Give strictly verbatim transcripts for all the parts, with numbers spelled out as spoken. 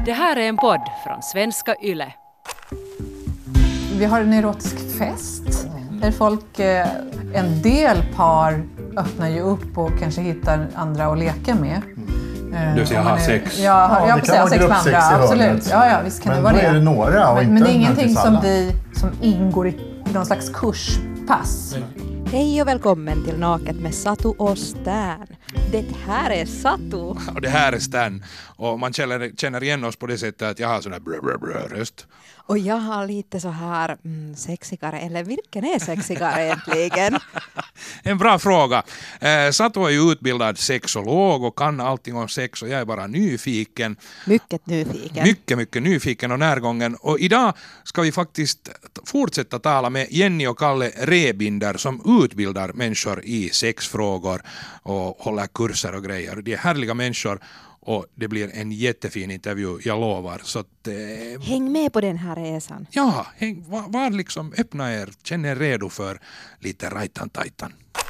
Det här är en podd från Svenska Yle. Vi har en erotisk fest där folk, en del par öppnar ju upp och kanske hittar andra att leka med. Du vill säga ha sex? Ja, ja, jag får säga sex med andra, absolut. Ja, ja, visst kan men det vara då det. är det några och men, inte men det är ingenting som, alla. vi, som ingår i någon slags kurspass. Hej och välkommen till Naket med Satu och Stern. Det här är Satu. Och det här är Stern. Och man känner, känner igen oss på det sättet att jag har sån här brö, brö, brö röst. Och jag har lite så här mm, sexigare, eller vilken är sexigare egentligen? En bra fråga. Eh, Satu är ju utbildad sexolog och kan allting om sex och jag är bara nyfiken. Mycket nyfiken. Mycket, mycket nyfiken och närgången. Och idag ska vi faktiskt fortsätta tala med Jenny och Kalle Rebinder som utbildar människor i sexfrågor och håller kurser och grejer. De är härliga människor. Och det blir en jättefin intervju, jag lovar. Så att, eh, häng med på den här resan. Ja, häng, var, var liksom, öppna er, känn er redo för lite rajtan-tajtan.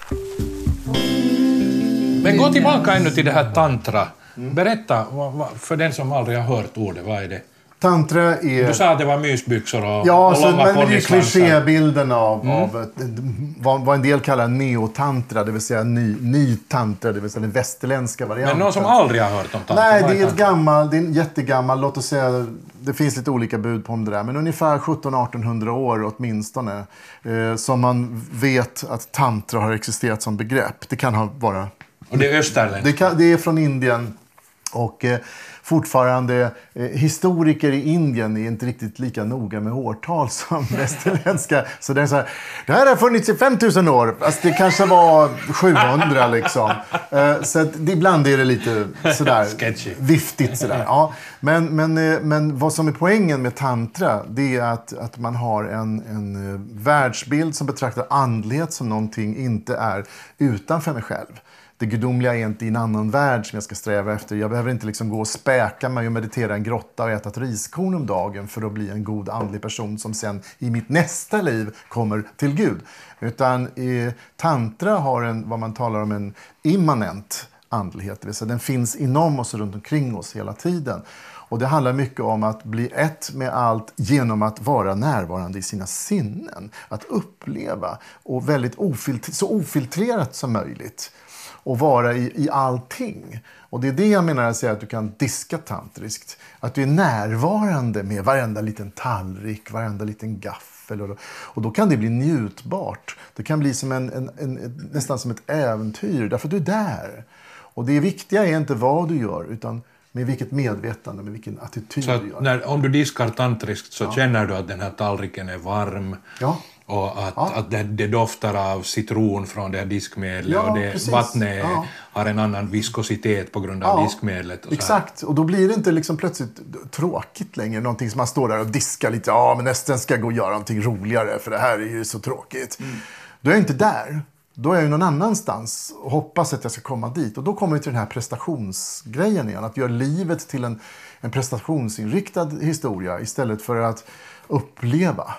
Men gå tillbaka ännu till det här tantra. Berätta, vad, vad, för den som aldrig har hört ordet, vad är det? Tantra är... Du sa att det var mysbyxor och, ja, och så, långa men det är ponnysvansar. klichébilden av, Mm. av vad, vad en del kallar neotantra, det vill säga ny, ny tantra, det vill säga den västerländska varianten. Men någon som aldrig har hört om tantra? Nej, vad det är ett tantra? gammal, det är en jättegammal, låt oss säga, det finns lite olika bud på om det där, men ungefär sjutton artonhundra år åtminstone, eh, som man vet att tantra har existerat som begrepp. Det kan ha vara... Och det är österländska? Det, kan, det är från Indien och... Eh, fortfarande eh, historiker i Indien är inte riktigt lika noga med årtal som västerländska. Så det är så här, det här har funnits i femtusen år. Alltså det kanske var sjuhundra liksom. Eh, så att, det, ibland är det lite sådär sketchy. Viftigt sådär. Ja. Men, men, eh, men vad som är poängen med tantra, det är att, att man har en, en eh, världsbild som betraktar andlighet som någonting inte är utanför mig själv. Det gudomliga är inte i en annan värld som jag ska sträva efter. Jag behöver inte liksom gå och späka mig och meditera i en grotta och äta ett riskorn om dagen för att bli en god andlig person som sen i mitt nästa liv kommer till Gud. Utan eh, tantra har en, vad man talar om, en immanent andlighet. Det vill säga den finns inom oss och runt omkring oss hela tiden. Och det handlar mycket om att bli ett med allt genom att vara närvarande i sina sinnen. Att uppleva och väldigt ofiltre- så ofiltrerat som möjligt. Och vara i, i allting. Och det är det jag menar att säga att du kan diska tantriskt. Att du är närvarande med varenda liten tallrik, varenda liten gaffel. Och då, och då kan det bli njutbart. Det kan bli som en, en, en, en, nästan som ett äventyr. Därför att du är där. Och det viktiga är inte vad du gör utan med vilket medvetande, med vilken attityd så du gör. När, om du diskar tantriskt så ja. känner du att den här tallriken är varm. Ja. Och att, ja. att det, det doftar av citron från det här diskmedlet. Ja, och det, vattnet ja. har en annan viskositet på grund av ja. diskmedlet. Och så exakt, och då blir det inte liksom plötsligt tråkigt längre. Någonting som man står där och diskar lite. Ja, men nästan ska jag gå och göra någonting roligare för det här är ju så tråkigt. Mm. Då är jag inte där. Då är jag ju någon annanstans och hoppas att jag ska komma dit. Och då kommer vi till den här prestationsgrejen igen. Att göra livet till en, en prestationsinriktad historia istället för att uppleva.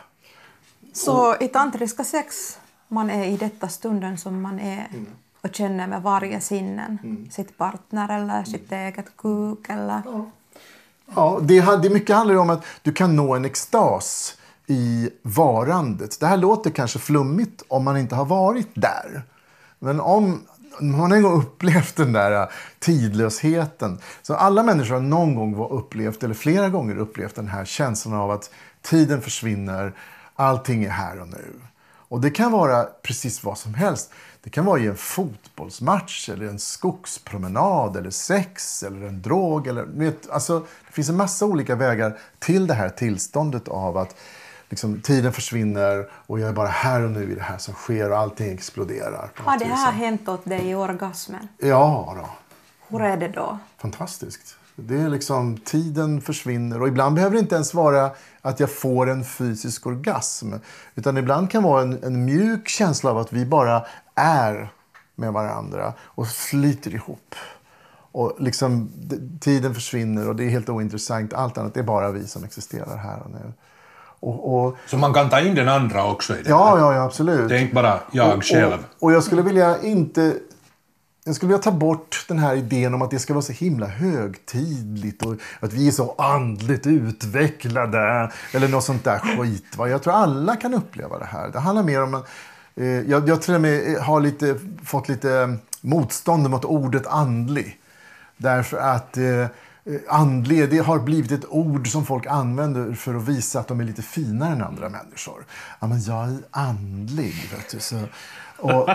Så i tantriska sex, man är i detta stunden som man är mm. och känner med varje sinnen. Mm. Sitt partner eller mm. sitt eget kuk eller... Ja, ja det, det mycket handlar om att du kan nå en extas i varandet. Det här låter kanske flummigt om man inte har varit där. Men om man en gång upplevt den där tidlösheten. Så alla människor har någon gång upplevt, eller flera gånger upplevt den här känslan av att tiden försvinner. Allting är här och nu. Och det kan vara precis vad som helst. Det kan vara i en fotbollsmatch eller en skogspromenad eller sex eller en drog. Eller, vet, alltså, det finns en massa olika vägar till det här tillståndet av att liksom, tiden försvinner och jag är bara här och nu i det här som sker och allting exploderar. Har det här hänt åt dig i orgasmen? Ja då. Hur är det då? Fantastiskt. Det är liksom, tiden försvinner och ibland behöver det inte ens vara att jag får en fysisk orgasm. Utan ibland kan det vara en, en mjuk känsla av att vi bara är med varandra och flyter ihop. Och liksom tiden försvinner och det är helt ointressant. Allt annat är bara vi som existerar här och nu. Och, och, så man kan ta in den andra också i det? Ja, ja, ja, absolut. Det är inte bara jag och, själv. Och, och jag skulle vilja inte jag skulle vilja ta bort den här idén om att det ska vara så himla högtidligt och att vi är så andligt utvecklade eller något sånt där skit. Va? Jag tror alla kan uppleva det här. Det handlar mer om en, eh, jag, jag tror jag har lite, fått lite motstånd mot ordet andlig. Därför att eh, andlig, det har blivit ett ord som folk använder för att visa att de är lite finare än andra människor. Ja, men jag är andlig, vet du. Så, och,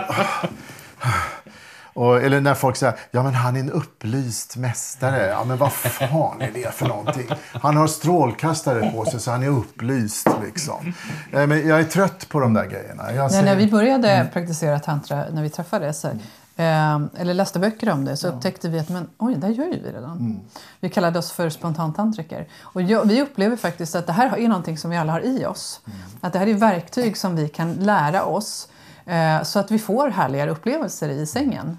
och, eller när folk säger, ja men han är en upplyst mästare. Ja men vad fan är det för någonting? Han har strålkastare på sig så han är upplyst liksom. Ja, men jag är trött på de där grejerna. Jag säger, när vi började mm. praktisera tantra, när vi träffades, mm. eh, eller läste böcker om det, så ja. upptäckte vi att men, oj, där gör vi redan. Mm. Vi kallade oss för spontantantriker. Och jag, vi upplever faktiskt att det här är någonting som vi alla har i oss. Mm. Att det här är verktyg som vi kan lära oss. Så att vi får härligare upplevelser i sängen.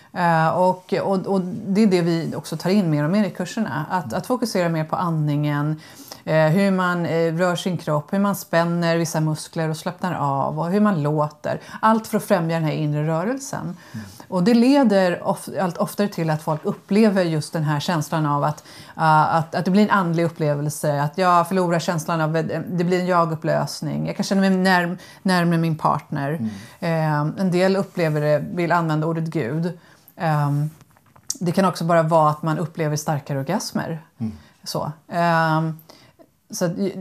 Och, och, och det är det vi också tar in mer och mer i kurserna. Att, att fokusera mer på andningen. Hur man rör sin kropp. Hur man spänner vissa muskler och slappnar av. Och hur man låter. Allt för att främja den här inre rörelsen. Mm. Och det leder of, allt oftare till att folk upplever just den här känslan av att, uh, att, att det blir en andlig upplevelse. Att jag förlorar känslan av att det blir en jag-upplösning. Jag kan känna mig när, närmare min partner. Mm. Uh, en del upplever det, vill använda ordet Gud. Um, det kan också bara vara att man upplever starkare orgasmer. Mm. Så. Um, så det,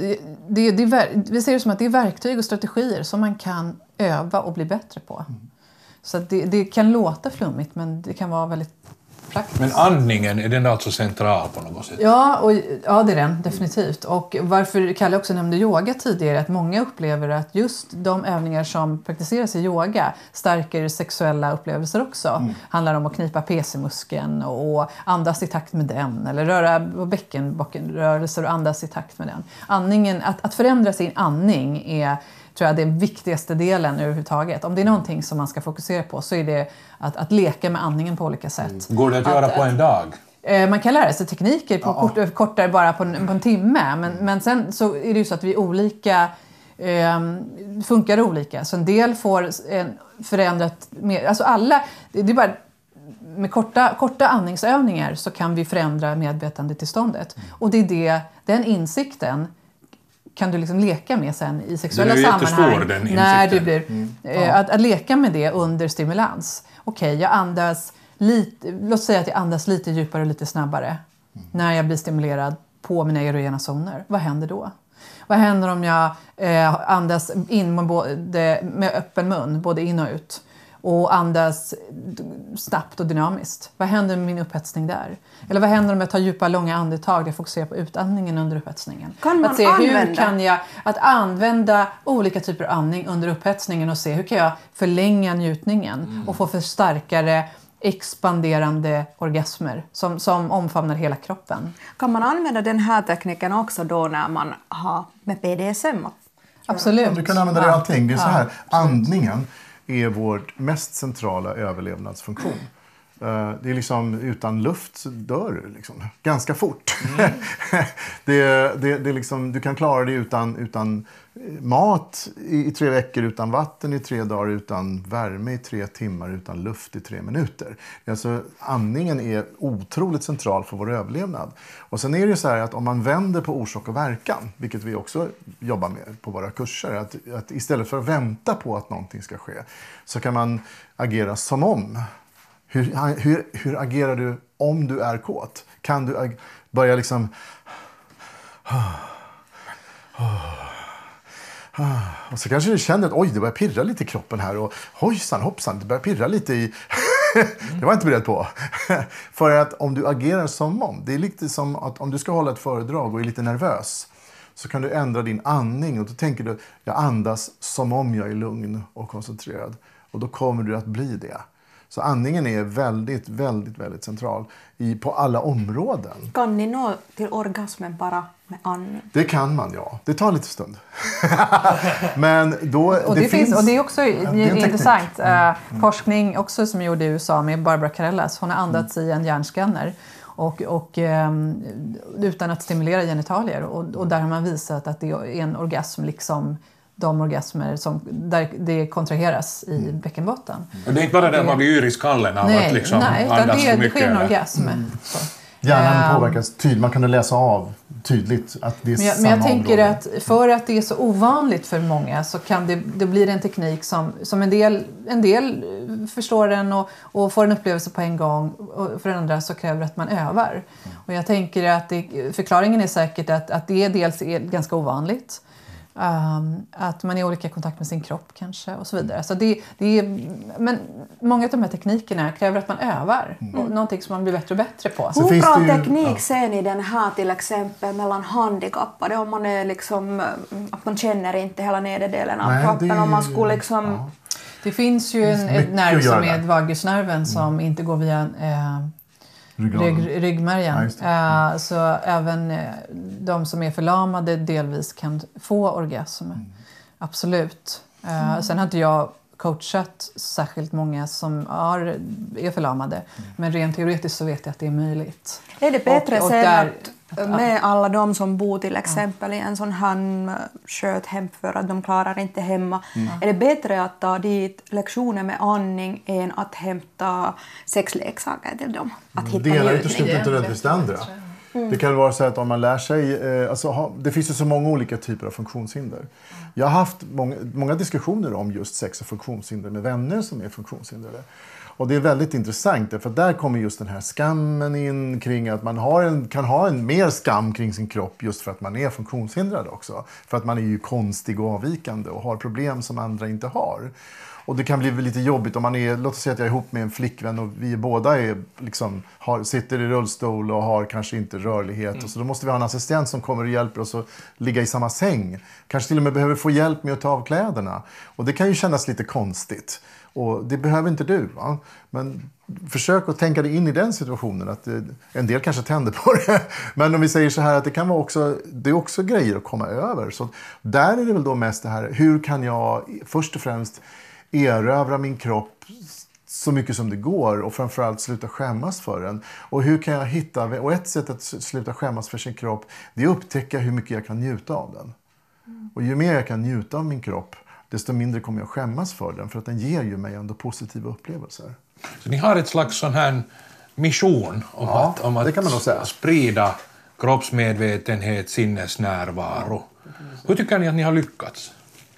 det, det, det, vi ser det som att det är verktyg och strategier som man kan öva och bli bättre på. Mm. Så det, det kan låta flummigt, men det kan vara väldigt praktiskt. Men andningen, är den alltså central på något sätt? Ja, och, ja det är den, definitivt. Och varför Kalle också nämnde yoga tidigare, att många upplever att just de övningar som praktiseras i yoga stärker sexuella upplevelser också. Mm. Handlar om att knipa P C-muskeln och andas i takt med den. Eller röra bäckenrörelser och andas i takt med den. Andningen, att, att förändra sin andning är... tror jag, den viktigaste delen överhuvudtaget. Om det är någonting som man ska fokusera på så är det att, att leka med andningen på olika sätt. Går det att, att göra på en dag? Eh, man kan lära sig tekniker på ja. kort, kortare bara på en, på en timme. Men, mm. men sen så är det ju så att vi olika eh, funkar olika. Så en del får en förändrat mer. Alltså alla, det, det är bara med korta, korta andningsövningar så kan vi förändra medvetandetillståndet. Mm. Och det är det, den insikten kan du liksom leka med sen i sexuella sammanhang när du blir mm. ja. att, att leka med det under stimulans. Okej, okay, jag andas lite, låt säga att jag andas lite djupare och lite snabbare mm. när jag blir stimulerad på mina erogena zoner. Vad händer då? Vad händer om jag eh, andas in med, både, med öppen mun, både in och ut? Och andas snabbt och dynamiskt. Vad händer med min upphetsning där? Eller vad händer om jag tar djupa, långa andetag? Jag fokuserar på utandningen under upphetsningen. Kan man att se använda? Hur kan jag att använda olika typer av andning under upphetsningen och se hur kan jag förlänga njutningen mm. och få för starkare expanderande orgasmer som, som omfamnar hela kroppen. Kan man använda den här tekniken också då när man har med P D S M? Absolut. Ja, du kan använda det i allting. Det är så här, andningen är vår mest centrala överlevnadsfunktion. Uh, det är liksom utan luft så dör du liksom ganska fort. Mm. det, det, det är liksom, du kan klara det utan, utan mat i, i tre veckor, utan vatten i tre dagar, utan värme i tre timmar, utan luft i tre minuter. Alltså, andningen är otroligt central för vår överlevnad. Och sen är det ju så här att om man vänder på orsak och verkan, vilket vi också jobbar med på våra kurser, att, att istället för att vänta på att någonting ska ske så kan man agera som om. Hur, hur, hur agerar du om du är kåt? Kan du ag- börja liksom... Och så kanske du känner att oj, det börjar pirra lite i kroppen här. Och hojsan, hoppsan, det börjar pirra lite i... Det var jag inte beredd på. För att om du agerar som om... Det är lite som att om du ska hålla ett föredrag och är lite nervös så kan du ändra din andning. Och då tänker du, jag andas som om jag är lugn och koncentrerad. Och då kommer du att bli det. Så andningen är väldigt, väldigt, väldigt central i, på alla områden. Kan ni nå till orgasmen bara med andning? Det kan man, ja. Det tar lite stund. Men då, och det, det finns, och det är också ja, det är intressant. Mm. Mm. Forskning också som gjorde i U S A med Barbara Carellas. Hon har andats mm. i en hjärnskanner. Och, och um, utan att stimulera genitalier. Och, och där har man visat att det är en orgasm liksom de orgasmer som, där det kontraheras i mm. bäckenbotten. Och det är inte bara det att man blir yr i skallen av nej, att liksom nej, andas det, för mycket. Det sker en eller? orgasm. Mm. Hjärnan påverkas tydligt, man kan läsa av tydligt att det är men jag, samma men jag tänker område. att för att det är så ovanligt för många så kan det, det blir en teknik som, som en, del, en del förstår den och, och får en upplevelse på en gång, och för andra så kräver det att man övar. Mm. Och jag tänker att det, förklaringen är säkert att, att det dels är ganska ovanligt. Um, att man är i olika kontakt med sin kropp kanske och så vidare. Så det, det är, men många av de här teknikerna kräver att man övar. Mm. Och någonting som man blir bättre och bättre på. Hur bra ju, teknik ja. ser ni den här till exempel mellan handikappade? Om man är liksom, att man känner inte hela nederdelen av Nej, kroppen. Det, om man skulle liksom... Ja. Det finns ju en, ett nerv som är vagusnerven som mm. inte går via... Eh, Rygg, ryggmärgen. Ja, mm. uh, så även uh, de som är förlamade delvis kan få orgasm. Mm. Absolut. Uh, mm. Sen har inte jag coachat särskilt många som är, är förlamade. Mm. Men rent teoretiskt så vet jag att det är möjligt. Är det bättre och, och sen där, att med alla de som bor till exempel ja. i en sån här sköthem för att de klarar inte hemma. Mm. Är det bättre att ta dit lektioner med andning än att hämta sexleksaker till dem? Att hitta det ena utesluter inte nödvändigtvis det andra. Mm. Det kan vara så att om man lär sig, eh, alltså, ha, det finns ju så många olika typer av funktionshinder. Mm. Jag har haft många, många diskussioner om just sex och funktionshinder med vänner som är funktionshindrade. Och det är väldigt intressant för där kommer just den här skammen in kring att man har en, kan ha en mer skam kring sin kropp just för att man är funktionshindrad också. För att man är ju konstig och avvikande och har problem som andra inte har. Och det kan bli lite jobbigt om man är, låt oss säga att jag är ihop med en flickvän och vi båda är, liksom, har, sitter i rullstol och har kanske inte rörlighet. Mm. Och så då måste vi ha en assistent som kommer och hjälper oss att ligga i samma säng. Kanske till och med behöver få hjälp med att ta av kläderna. Och det kan ju kännas lite konstigt. Och det behöver inte du, va? Men försök att tänka dig in i den situationen. Att det, en del kanske tänder på det. Men om vi säger så här att det kan vara också, det är också grejer att komma över. Så där är det väl då mest det här, hur kan jag först och främst erövra min kropp så mycket som det går och framförallt sluta skämmas för den. Och hur kan jag hitta, och ett sätt att sluta skämmas för sin kropp, det är att upptäcka hur mycket jag kan njuta av den. Och ju mer jag kan njuta av min kropp, desto mindre kommer jag skämmas för den, för att den ger ju mig ändå positiva upplevelser. Så ni har ett slags sån här mission om ja, att, om att det kan man nog säga. sprida kroppsmedvetenhet, sinnesnärvaro. Hur tycker ni att ni har lyckats?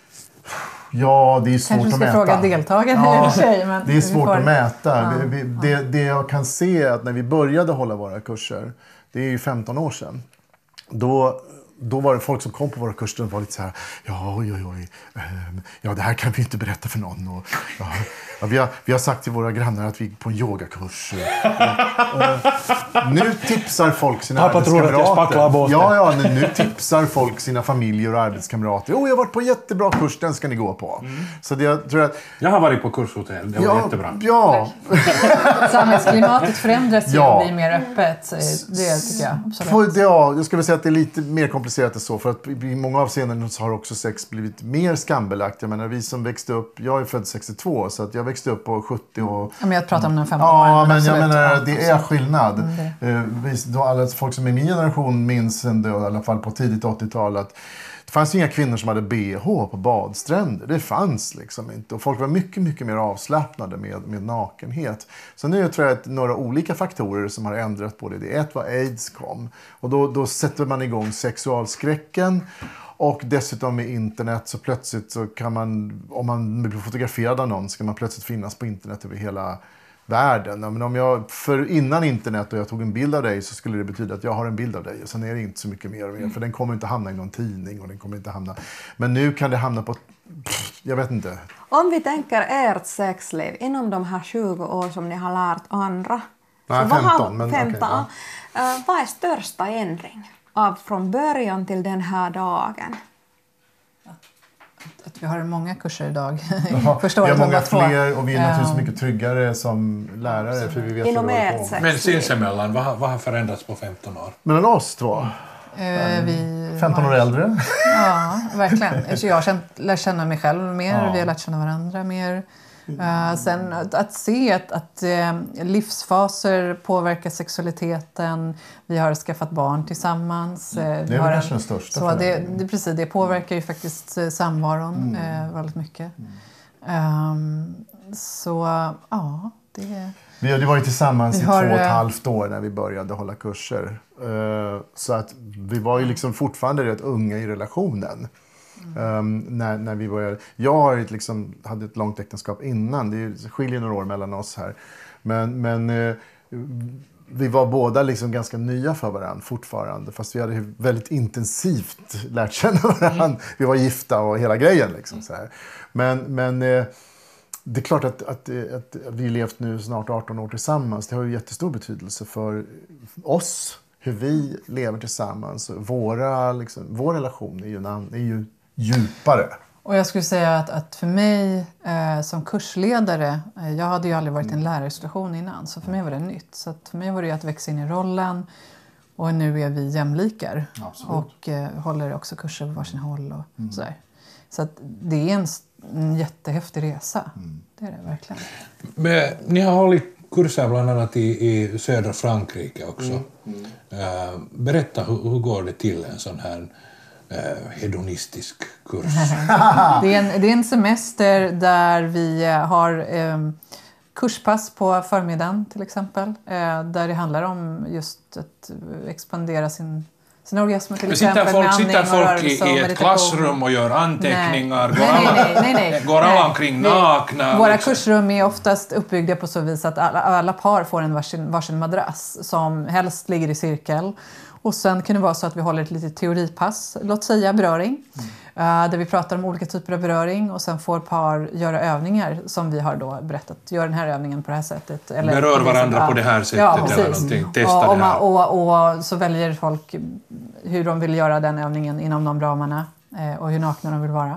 Ja, det är svårt Kanske att mäta. Kanske ska fråga deltagarna ja, i och för sig. Men det är svårt får... att mäta. Ja, vi, vi, det, det jag kan se är att när vi började hålla våra kurser, det är ju femton år sedan, då... Då var det folk som kom på våra kurser och var lite så här, ja, oj, oj, oj, ja, det här kan vi inte berätta för någon. Och, ja, ja, vi, har, vi har sagt till våra grannar att vi är på en yogakurs. Och, och, nu tipsar folk sina Pappa arbetskamrater. tror att jag spacklar båten. Ja, ja, nu, nu tipsar folk sina familjer och arbetskamrater. Oh, jag har varit på en jättebra kurs, den ska ni gå på. Mm. Så det, jag tror att... Jag har varit på kurshotell, det var ja, jättebra. Ja. Samhällsklimatet förändras ju ja. och blir mer öppet. Det tycker jag. Absolut. Ja, jag skulle säga att det är lite mer komplicerat än så. För att i många avseenden så har också sex blivit mer skambelagt. Jag menar, vi som växte upp, jag är född sextiotvå, så att jag växte upp på sjuttio och... Ja, men jag pratar om den femton ja, år. men absolut. jag menar, det är skillnad. Mm, det. Då alla folk som är min generation minns ändå, i alla fall på tidigt åttiotal, att det fanns inga kvinnor som hade B H på badstränder. Det fanns liksom inte. Och folk var mycket, mycket mer avslappnade med, med nakenhet. Så nu tror jag att några olika faktorer som har ändrat på det. Det är ett var AIDS kom. Och då, då sätter man igång sexualskräcken. Och dessutom med internet så plötsligt så kan man, om man blir fotograferad av någon, så kan man plötsligt finnas på internet över hela världen. Men om jag, för innan internet och jag tog en bild av dig, så skulle det betyda att jag har en bild av dig. Och sen är det inte så mycket mer och mer. För den kommer inte hamna i någon tidning och den kommer inte hamna... Men nu kan det hamna på... Pff, jag vet inte. Om vi tänker ert sexliv inom de här tjugo år som ni har lärt andra. Nej, så femton. Vad, Men, femton okay, uh, vad är största ändring av från början till den här dagen? Att vi har många kurser idag. Jaha, Förstår vi har många två. fler och vi är naturligtvis um, mycket tryggare som lärare. För vi vet inom vad vi ert håller på. Men sinsemellan, vad, vad har förändrats på femton år? Mellan oss två? Uh, vi femton år äldre. Ja, verkligen. Så jag har känt, lärt känna mig själv mer. Ja. Vi har lärt känna varandra mer. Uh, sen att, att se att, att uh, livsfaser påverkar sexualiteten. Vi har skaffat barn tillsammans. Uh, det är vi har kanske den största så det, det, precis, det påverkar ju faktiskt uh, samvaron mm. uh, väldigt mycket. Mm. Um, så ja, det... Vi hade varit tillsammans i har, två och ett halvt år när vi började hålla kurser. Uh, så att vi var ju liksom fortfarande rätt unga i relationen. Um, när, när vi började. Jag har ett, liksom, hade ett långt äktenskap innan. Det skiljer några år mellan oss här. Men, men uh, vi var båda liksom ganska nya för varandra fortfarande. Fast vi hade väldigt intensivt lärt känna varandra. Mm. Vi var gifta och hela grejen. Liksom, så här. Men, men uh, det är klart att, att, att vi levt nu snart arton år tillsammans. Det har ju jättestor betydelse för oss. Hur vi lever tillsammans. Våra, liksom, vår relation är ju, en, är ju djupare. Och jag skulle säga att, att för mig eh, som kursledare, eh, jag hade ju aldrig varit i en lärarsituation innan, så för mig var det nytt. Så att för mig var det att växa in i rollen, och nu är vi jämlikar. Absolut. Och eh, håller också kurser på varsin håll och mm. sådär. Så att det är en, en jättehäftig resa, mm. det är det verkligen. Men ni har hållit kurser bland annat i, i södra Frankrike också. Mm. Mm. Uh, berätta, hur, hur går det till en sån här uh, hedonistisk kurs? det, är en, det är en semester där vi har um, kurspass på förmiddagen till exempel. Uh, där det handlar om just att expandera sin, sin orgasm till sitter exempel. Folk, med sitter folk i, i ett klassrum och gör anteckningar? Nej. Går, nej, alla, nej, nej, nej. går alla omkring nakna? Våra liksom. kursrum är oftast uppbyggda på så vis att alla, alla par får en varsin, varsin madrass som helst ligger i cirkel. Och sen kan det vara så att vi håller ett litet teoripass, låt säga beröring. Mm. Uh, där vi pratar om olika typer av beröring, och sen får par göra övningar som vi har då berättat. Gör den här övningen på det här sättet. Eller berör varandra ja. på det här sättet ja, eller någonting. Testa och, och, det här. Och, och så väljer folk hur de vill göra den övningen inom de ramarna. Eh, och hur nakna de vill vara.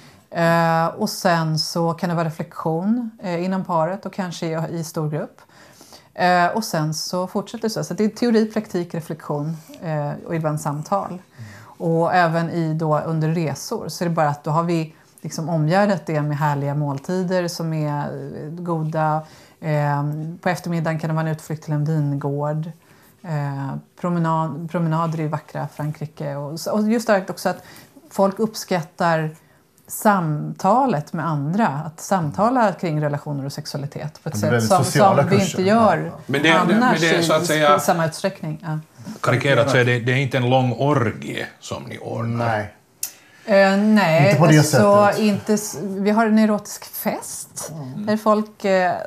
Eh, och sen så kan det vara reflektion eh, inom paret och kanske i, i stor grupp. Eh, och sen så fortsätter det så. Så det är teori, praktik, reflektion eh, och ibland samtal. Mm. Och även i då under resor så är det bara att då har vi liksom omgärdat det med härliga måltider som är goda. Eh, på eftermiddagen kan det vara en utflykt till en vingård. Eh, promenad, promenader i vackra Frankrike. Och, och just det också att folk uppskattar samtalet med andra. Att samtala kring relationer och sexualitet på ett sätt som, som vi inte gör ja, ja. Men det, annars men det är, så att säga, i samma utsträckning. Ja. Karikerat så är det, det är inte en lång orgie som ni ordnar. Nej. Uh, nej, inte på det alltså, sättet. Inte, vi har en erotisk fest mm. där folk, uh,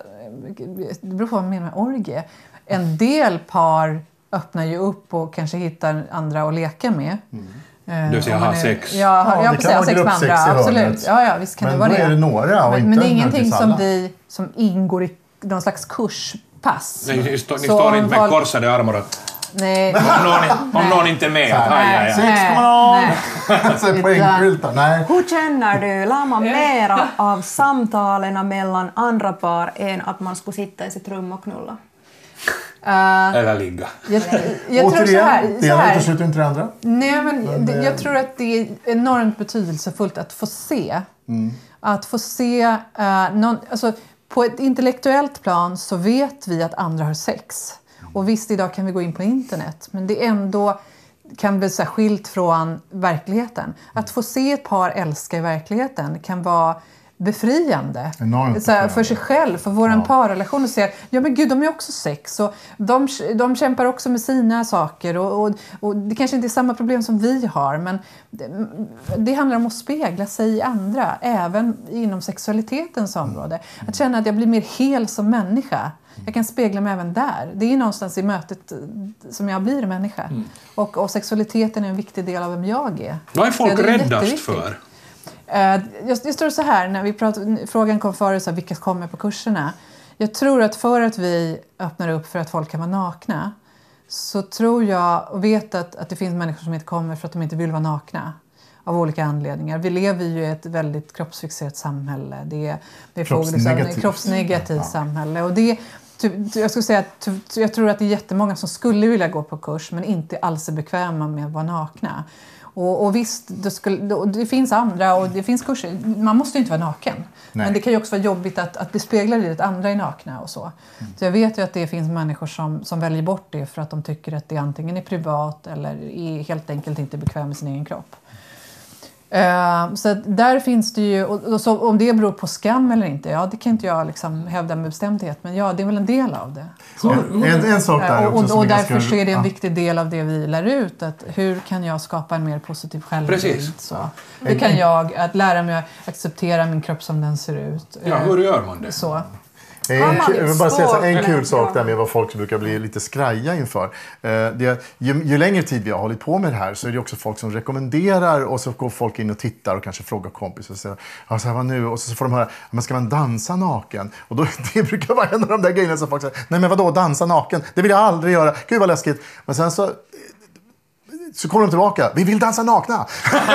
det beror på vad man menar med orgie. En del par öppnar ju upp och kanske hittar andra att leka med. Mm. Du vill säga ha sex? Ja, ja, ja precis. Ha sex med andra, absolut. Ja, ja, visst kan men det vara då det. är det några och men, inte men det är ingenting som, alla. vi, som ingår i någon slags kurspass. Nej, ni, stå, ni står inte med folk... korsade armar och... Nej. Om, någon, om någon inte är med. Att, nej, aj, aj, aj. sex på någon. Hur känner du? Lär man mera av samtalen mellan andra par än att man skulle sitta i sitt rum och knulla? Uh, Eller ligga. Jag, jag tror så här, det ena utesluter inte det andra. Nej, men, men det, jag tror att det är enormt betydelsefullt att få se. Mm. Att få se... Uh, någon, alltså, på ett intellektuellt plan så vet vi att andra har sex. Och visst, idag kan vi gå in på internet. Men det är ändå kan bli så skilt från verkligheten. Att få se ett par älska i verkligheten kan vara befriande. Så här, för sig själv, för vår ja. parrelation, och säga, ja men gud, de är också sex och de, de kämpar också med sina saker och, och, och det kanske inte är samma problem som vi har, men det, det handlar om att spegla sig i andra, även inom sexualitetens område. Mm. Att känna att jag blir mer hel som människa. Jag kan spegla mig även där. Det är någonstans i mötet som jag blir människa. Mm. Och, och sexualiteten är en viktig del av vem jag är. Vad är folk är räddast för? Uh, just, just det så här, när vi pratar, frågan kom förut, så här, vilka kommer på kurserna. Jag tror att för att vi öppnar upp för att folk kan vara nakna, så tror jag och vet att, att det finns människor som inte kommer för att de inte vill vara nakna. Av olika anledningar. Vi lever ju i ett väldigt kroppsfixerat samhälle. Det är, det är kroppsnegativt, kroppsnegativt ja. samhälle. Och det, jag skulle säga att jag tror att det är jättemånga som skulle vilja gå på kurs men inte alls är bekväma med att vara nakna. Och, och visst, det, skulle, det finns andra och det finns kurser. Man måste ju inte vara naken. Nej. Men det kan ju också vara jobbigt att, att bli speglad i att andra är nakna och så. Mm. Så jag vet ju att det finns människor som, som väljer bort det för att de tycker att det antingen är privat eller är helt enkelt inte bekväm med sin egen kropp. Uh, så där finns det ju, och, och så, om det beror på skam eller inte, ja det kan inte jag liksom hävda med bestämdhet, men ja det är väl en del av det. Så, en, en sak där också. Uh, och och därför ganska, så är det en ja. viktig del av det vi lär ut, att hur kan jag skapa en mer positiv självbild? Precis. Så. Hur kan jag att lära mig att acceptera min kropp som den ser ut? Ja, hur gör man det? Så. En, jag vill bara säga så, en kul sak där med vad folk brukar bli lite skraja inför. Det, ju, ju längre tid vi har hållit på med det här så är det också folk som rekommenderar och så går folk in och tittar och kanske frågar kompisar och säger ja, så här, vad nu? Och så får de höra, men ska man dansa naken? Och då, det brukar vara en av de där grejerna som folk säger, nej men vadå dansa naken? Det vill jag aldrig göra, gud vad läskigt. Men sen så Så kommer de tillbaka. Vi vill dansa nakna.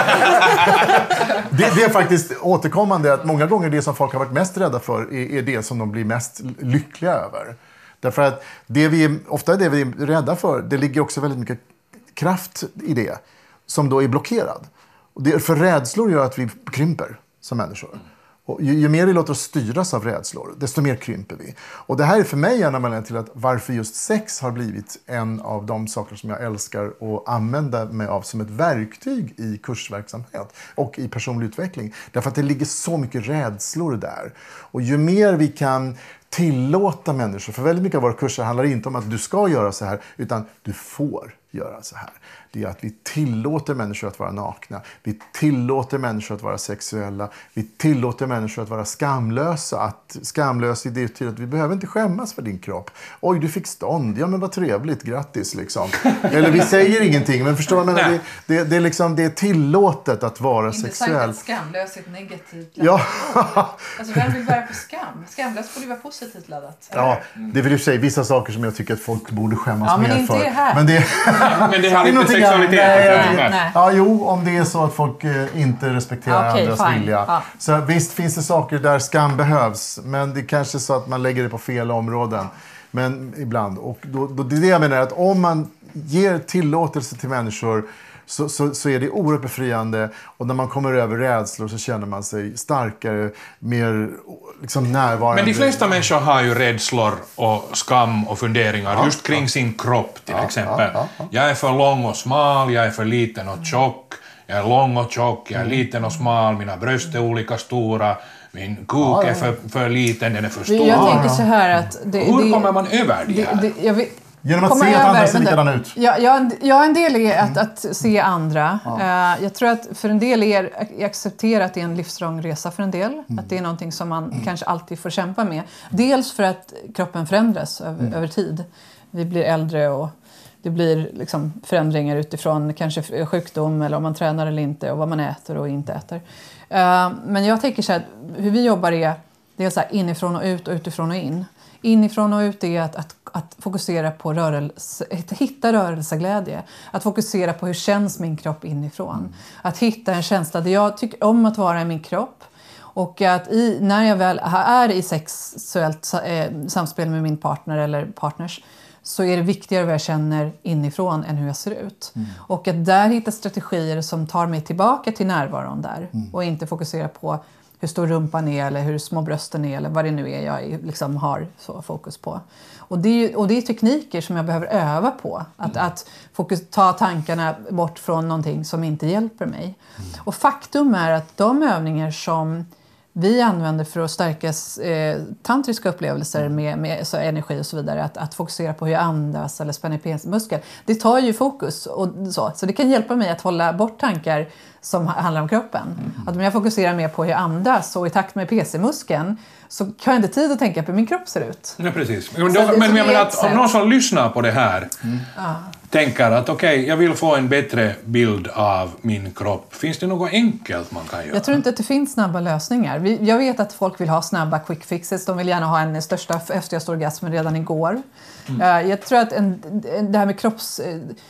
det, det är faktiskt återkommande att många gånger det som folk har varit mest rädda för är, är det som de blir mest lyckliga över. Därför att det vi, ofta är det vi är rädda för, det ligger också väldigt mycket kraft i det som då är blockerad. Och det, för rädslor gör att vi krymper som människor. Och ju, ju mer vi låter oss styras av rädslor, desto mer krymper vi. Och det här är för mig en anledning till att varför just sex har blivit en av de saker som jag älskar att använda mig av som ett verktyg i kursverksamhet och i personlig utveckling. Därför att det ligger så mycket rädslor där. Och ju mer vi kan tillåta människor, för väldigt mycket av våra kurser handlar inte om att du ska göra så här, utan du får göra så här. Det är att vi tillåter människor att vara nakna. Vi tillåter människor att vara sexuella. Vi tillåter människor att vara skamlösa. Att skamlös är det till att vi behöver inte skämmas för din kropp. Oj, du fick stånd. Ja, men vad trevligt. Grattis, liksom. Eller vi säger ingenting, men förstår man? Det, det, det, är liksom, det är tillåtet att vara inte sexuell. Inte skamlös är ett negativt laddat. Ja. Alltså, vem vill bära på skam? Skamlös får ju vara positivt laddat. Ja, det vill ju säga vissa saker som jag tycker att folk borde skämmas ja, men mer inte för. Det här. Men det, men det har inte sexualitet. Nej, nej, nej. Ja, jo, om det är så att folk eh, inte respekterar okay, andras fine. vilja. Ja. Så visst finns det saker där skam behövs, men det är kanske så att man lägger det på fel områden. Men ibland. Och då, då, det är det jag menar, att om man ger tillåtelse till människor så, så, så är det oerhört befriande. Och när man kommer över rädslor så känner man sig starkare, mer liksom närvarande. Men de flesta människor har ju rädslor och skam och funderingar ja, just kring ja. sin kropp till ja, exempel. Ja, ja, ja. Jag är för lång och smal, jag är för liten och tjock, jag är lång och tjock, jag är liten och smal, mina bröst är olika stora, min kuk ja, ja. är för, för liten, den är för stor. Jag tänker så här att... Det, Hur det, kommer man över det här? Det, det, jag vet, Genom att se att andra ser likadana ut. Ja, ja, ja, en del är att, att se andra. Ja. Uh, jag tror att för en del är att acceptera att det är en livslång resa för en del. Mm. Att det är någonting som man mm. kanske alltid får kämpa med. Dels för att kroppen förändras över, mm. över tid. Vi blir äldre och det blir liksom förändringar utifrån kanske sjukdom eller om man tränar eller inte och vad man äter och inte äter. Uh, men jag tänker så här, hur vi jobbar är, det är så här inifrån och ut och utifrån och in. Inifrån och ut är att, att, att fokusera på rörelse, att hitta rörelseglädje. Att fokusera på hur känns min kropp inifrån. Mm. Att hitta en känsla där jag tycker om att vara i min kropp. Och att i, när jag väl är i sexuellt eh, samspel med min partner eller partners så är det viktigare vad jag känner inifrån än hur jag ser ut. Mm. Och att där hitta strategier som tar mig tillbaka till närvaron där. Mm. Och inte fokusera på hur stor rumpan är eller hur små brösten är eller vad det nu är jag liksom har så fokus på. Och det är, och det är tekniker som jag behöver öva på. Att, mm. att fokus, ta tankarna bort från någonting som inte hjälper mig. Mm. Och faktum är att de övningar som vi använder för att stärka eh, tantriska upplevelser med, med så energi och så vidare. Att, att fokusera på hur jag andas eller spänna penismuskel. Det tar ju fokus. Och så. så det kan hjälpa mig att hålla bort tankar som handlar om kroppen. Mm. Att om jag fokuserar mer på hur jag andas och i takt med P C-muskeln så har jag inte tid att tänka på hur min kropp ser ut. Ja, precis. Men, då, men jag menar att om någon som lyssnar på det här mm. tänker att okej, okay, jag vill få en bättre bild av min kropp. Finns det något enkelt man kan göra? Jag tror inte att det finns snabba lösningar. Vi, jag vet att folk vill ha snabba quick fixes. De vill gärna ha en största häftigaste orgasmen redan igår. Mm. Uh, jag tror att en, det här med kropps...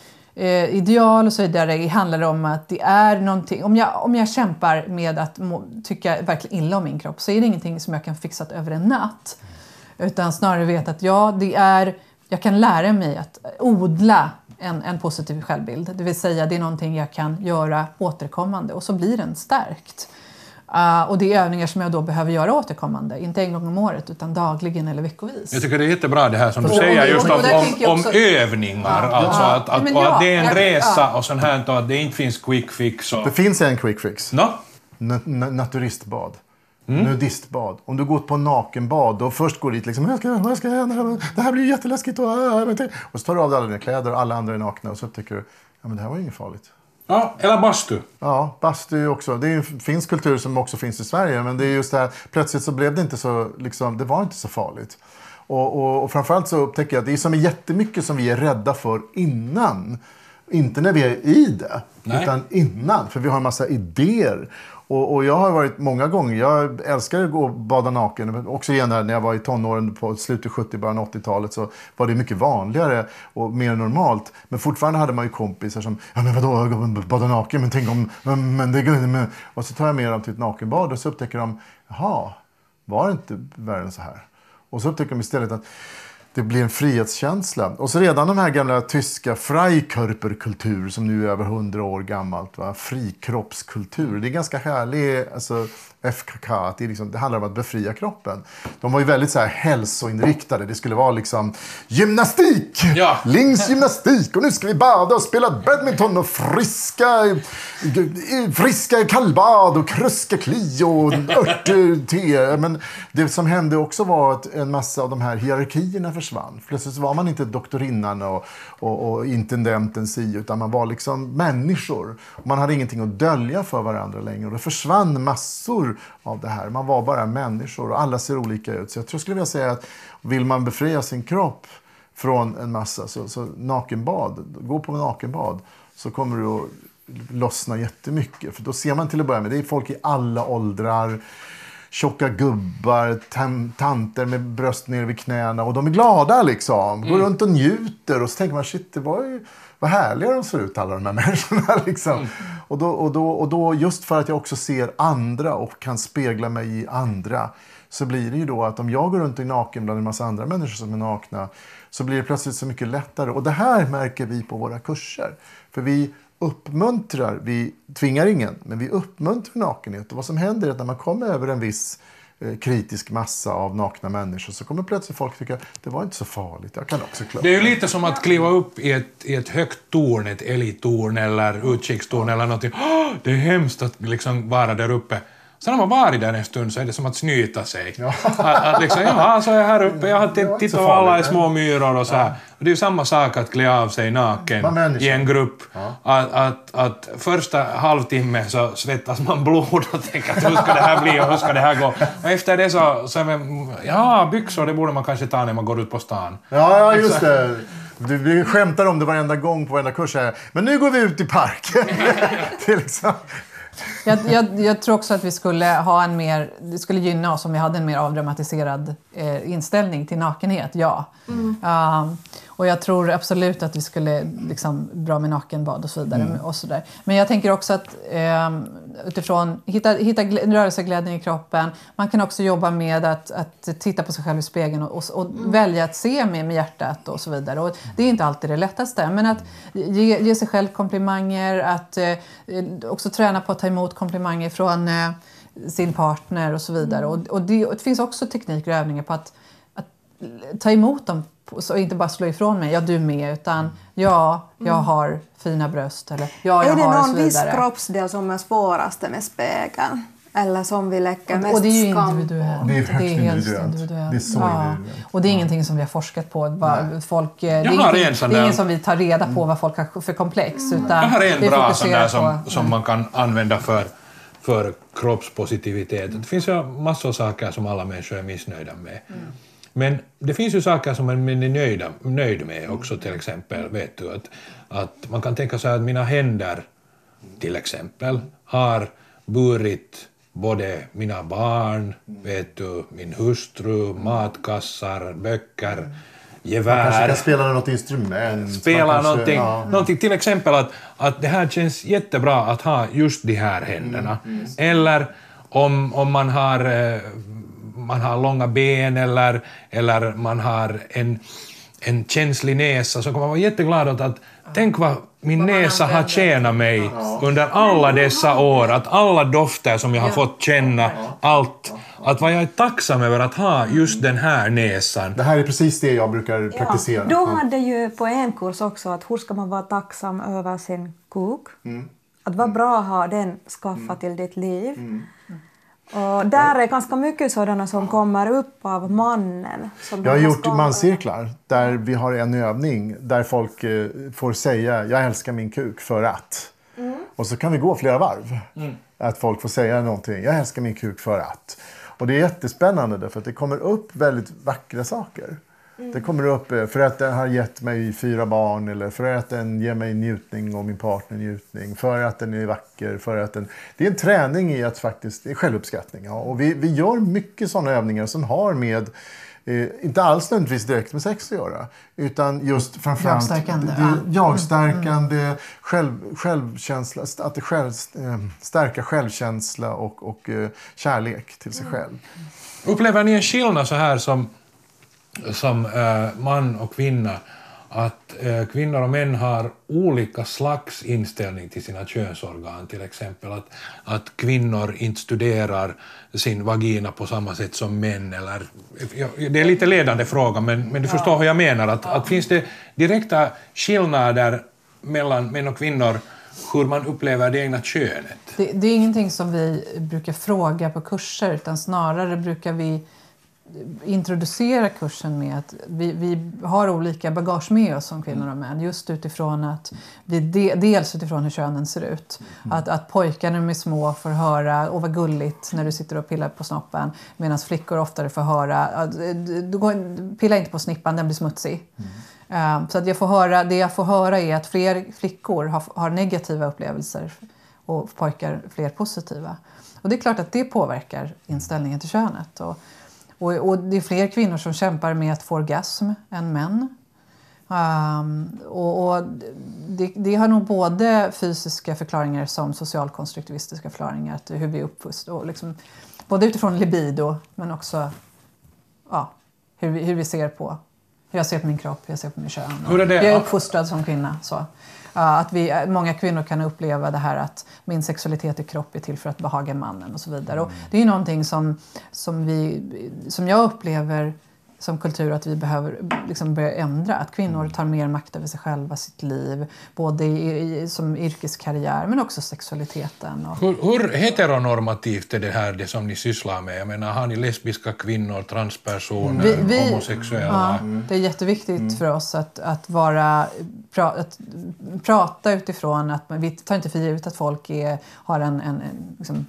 Eh, ideal och så vidare handlar om att det är någonting, om jag, om jag kämpar med att må, tycka verkligen illa om min kropp så är det ingenting som jag kan fixa över en natt. Utan snarare veta att ja, det är, jag kan lära mig att odla en, en positiv självbild. Det vill säga det är någonting jag kan göra återkommande och så blir den stärkt. Uh, och det är övningar som jag då behöver göra återkommande. Inte en gång om året utan dagligen eller veckovis. Jag tycker det är jättebra det här som du och, säger och, just och, och, om, om, om också, övningar. Ja, alltså ja, att, att, men och ja, att det är en jag, resa ja. och sånt här och att det inte finns quick fix. Och... Det finns en quick fix. No? Na- na- naturistbad. Mm. Nudistbad. Om du går på nakenbad då först går dit liksom, jag ska, jag ska, det här blir jätteläskigt. Och, och så tar du av dig alla dina kläder och alla andra är nakna och så upptäcker du, ja men det här var inget farligt. Ja, eller bastu. Ja, bastu också. Det är en finsk kultur som också finns i Sverige. Men det är just det här, plötsligt så blev det inte så, liksom, det var inte så farligt. Och, och, och framförallt så upptäcker jag att det är som är jättemycket som vi är rädda för innan. Inte när vi är i det, Nej. utan innan. För vi har en massa idéer. Och, och jag har varit många gånger, jag älskar att gå och bada naken. Också igen när jag var i tonåren på slutet sjuttio, början åttiotalet så var det mycket vanligare och mer normalt. Men fortfarande hade man ju kompisar som, ja men vadå, jag går och bada naken, men tänk om, men, men det men. Och så tar jag med dem till ett nakenbad och så upptäcker de, jaha, var det inte värre än så här? Och så upptäcker de istället att det blir en frihetskänsla. Och så redan de här gamla tyska Freikörperkultur som nu är över hundra år gammalt. Va? Frikroppskultur. Det är ganska härlig, alltså F K K. Det, är liksom, det handlar om att befria kroppen. De var ju väldigt så här hälsoinriktade. Det skulle vara liksom gymnastik! Ja. Linksgymnastik! Och nu ska vi bada och spela badminton och friska, friska kallbad och kruska kli och örtte. Men det som hände också var att en massa av de här hierarkierna försvann. Plötsligt var man inte doktorinnan och, och, och intendenten si, utan man var liksom människor. Man hade ingenting att dölja för varandra längre. Och det försvann massor av det här. Man var bara människor och alla ser olika ut. Så jag tror skulle vilja säga att vill man befria sin kropp från en massa så, så nakenbad, gå på nakenbad så kommer du att lossna jättemycket. För då ser man till att börja med, det är folk i alla åldrar, tjocka gubbar, tam- tanter med bröst ner vid knäna och de är glada liksom. Går mm. runt och njuter och så tänker man shit, det var ju vad härliga de ser ut alla de här människorna liksom. Mm. Och, då, och, då, och då just för att jag också ser andra och kan spegla mig i andra så blir det ju då att om jag går runt i naken bland en massa andra människor som är nakna så blir det plötsligt så mycket lättare. Och det här märker vi på våra kurser. För vi uppmuntrar, vi tvingar ingen, men vi uppmuntrar nakenhet. Och vad som händer är att när man kommer över en viss eh, kritisk massa av nakna människor så kommer plötsligt folk tycka det var inte så farligt, jag kan också klara. Det är ju lite som att kliva upp i ett, i ett högt torn, ett elittorn eller utkikstorn eller någonting. Oh, det är hemskt att liksom vara där uppe. Sen när man varit där en stund så är det som att snyta sig. Ja. Att, att liksom, ja, så är jag här uppe, jag har tittat på alla i små myror och så här. Och det är ju samma sak att klä av sig naken i en grupp. Ja. Att, att, att första halvtimme så svettas man blod och tänker att hur ska det här bli och hur ska det här gå. Och efter det så, så är man, ja, byxor det borde man kanske ta när man går ut på stan. Ja, ja just det. Vi skämtar om det varenda gång på varenda kurs här. Men nu går vi ut i parken. Det är liksom... Jag, jag, jag tror också att vi skulle ha en mer, det skulle gynna oss om vi hade en mer avdramatiserad eh, inställning till nakenhet, ja. Mm. Um, och jag tror absolut att vi skulle liksom bra med nakenbad och så vidare. Mm. Och så där. Men jag tänker också att um, utifrån hitta, hitta rörelseglädjen i kroppen. Man kan också jobba med att, att titta på sig själv i spegeln och, och, och mm. välja att se med, med hjärtat och så vidare. Och det är inte alltid det lättaste. Men att ge, ge sig själv komplimanger, att eh, också träna på att ta emot komplimanger från eh, sin partner och så vidare. Och, och, det, och det finns också tekniker och övningar på att, att ta emot dem och inte bara slå ifrån mig, ja du med, utan ja, jag har fina bröst eller ja, jag är det har någon viss kroppsdel som är svåraste med spegeln? Eller som vi läcker mest skam? Och det är ju individuellt. Det är, det är helt individuellt. Det är så ja. individuellt. Och det är ingenting som vi har forskat på. Bara folk, det är, jag ingenting, en sån det är där... ingen som vi tar reda på vad folk har för komplex. Utan jag har en bra sån där som, på, som man kan använda för, för kroppspositivitet. Det finns ju massor av saker som alla människor är missnöjda med. Mm. Men det finns ju saker som man är nöjda, nöjd med också, till exempel. Vet du, att, att man kan tänka sig att mina händer till exempel har burit både mina barn, vet du, min hustru, matkassar, böcker, gevär. Man kanske kan spela något instrument. Spela kanske, någonting, ja. någonting, till exempel att, att det här känns jättebra att ha just de här händerna. Mm. Mm. Eller om, om man har... man har långa ben eller, eller man har en, en känslig näsa, så kan man vara jätteglad åt att tänk vad min näsa har tjänat mig under alla dessa år, att alla dofter som jag har fått känna, allt, att vad jag är tacksam över att ha just den här näsan. Det här är precis det jag brukar praktisera. Ja, de hade ju på en kurs också att hur ska man vara tacksam över sin kuk. Mm. Att vara bra att ha den skaffa mm. till ditt liv. Mm. Och där är ganska mycket sådana som kommer upp av mannen. Som jag har gjort manscirklar där vi har en övning där folk eh, får säga jag älskar min kuk för att. Mm. Och så kan vi gå flera varv. Mm. Att folk får säga någonting. Jag älskar min kuk för att. Och det är jättespännande därför att det kommer upp väldigt vackra saker. Mm. Det kommer upp för att den har gett mig fyra barn eller för att den ger mig njutning och min partner njutning. För att den är vacker. För att den... Det är en träning i att faktiskt, det är självuppskattning. Ja. Och vi, vi gör mycket sådana övningar som har med, eh, inte alls nödvändigtvis direkt med sex att göra. Utan just framförallt jagstärkande, det, jagstärkande mm. själv, självkänsla, att det själv, eh, stärka självkänsla och, och eh, kärlek till sig själv. Upplever ni en skillnad så här som som äh, man och kvinna, att äh, kvinnor och män har olika slags inställning till sina könsorgan, till exempel att, att kvinnor inte studerar sin vagina på samma sätt som män, eller ja, det är lite ledande fråga, men, men du förstår hur jag menar, att, att finns det direkta skillnader mellan män och kvinnor hur man upplever det egna könet? Det, det är ingenting som vi brukar fråga på kurser, utan snarare brukar vi introducera kursen med att vi, vi har olika bagage med oss som kvinnor och män, just utifrån att vi de, dels utifrån hur könen ser ut. Mm. Att, att pojkar när de är små får höra åh vad gulligt när du sitter och pillar på snoppen, medan flickor oftare får höra du går, pilla inte på snippan, den blir smutsig. Mm. Um, så att jag får höra, det jag får höra är att fler flickor har, har negativa upplevelser och pojkar fler positiva. Och det är klart att det påverkar inställningen till könet. Och Och, och det är fler kvinnor som kämpar med att få orgasm än män. Um, och och det, det har nog både fysiska förklaringar som socialkonstruktivistiska förklaringar. Att hur vi är uppfostrade. Liksom, både utifrån libido men också ja, hur, vi, hur vi ser på. Hur jag ser på min kropp, hur jag ser på min kön. Hur är det? Jag är uppfostrad som kvinna. Så. Uh, att vi, många kvinnor kan uppleva det här att min sexualitet i kropp är till för att behaga mannen och så vidare. Mm. Och det är ju någonting som, som, vi, som jag upplever som kultur att vi behöver liksom börja ändra. Att kvinnor tar mer makt över sig själva, sitt liv. Både i, i, som yrkeskarriär men också sexualiteten. Och... Hur, hur heteronormativt är det här det som ni sysslar med? Jag menar, har ni lesbiska kvinnor, transpersoner, vi, vi, homosexuella? Ja, det är jätteviktigt mm. för oss att, att, vara, pra, att prata utifrån att vi tar inte för givet att folk är, har en, en, en liksom,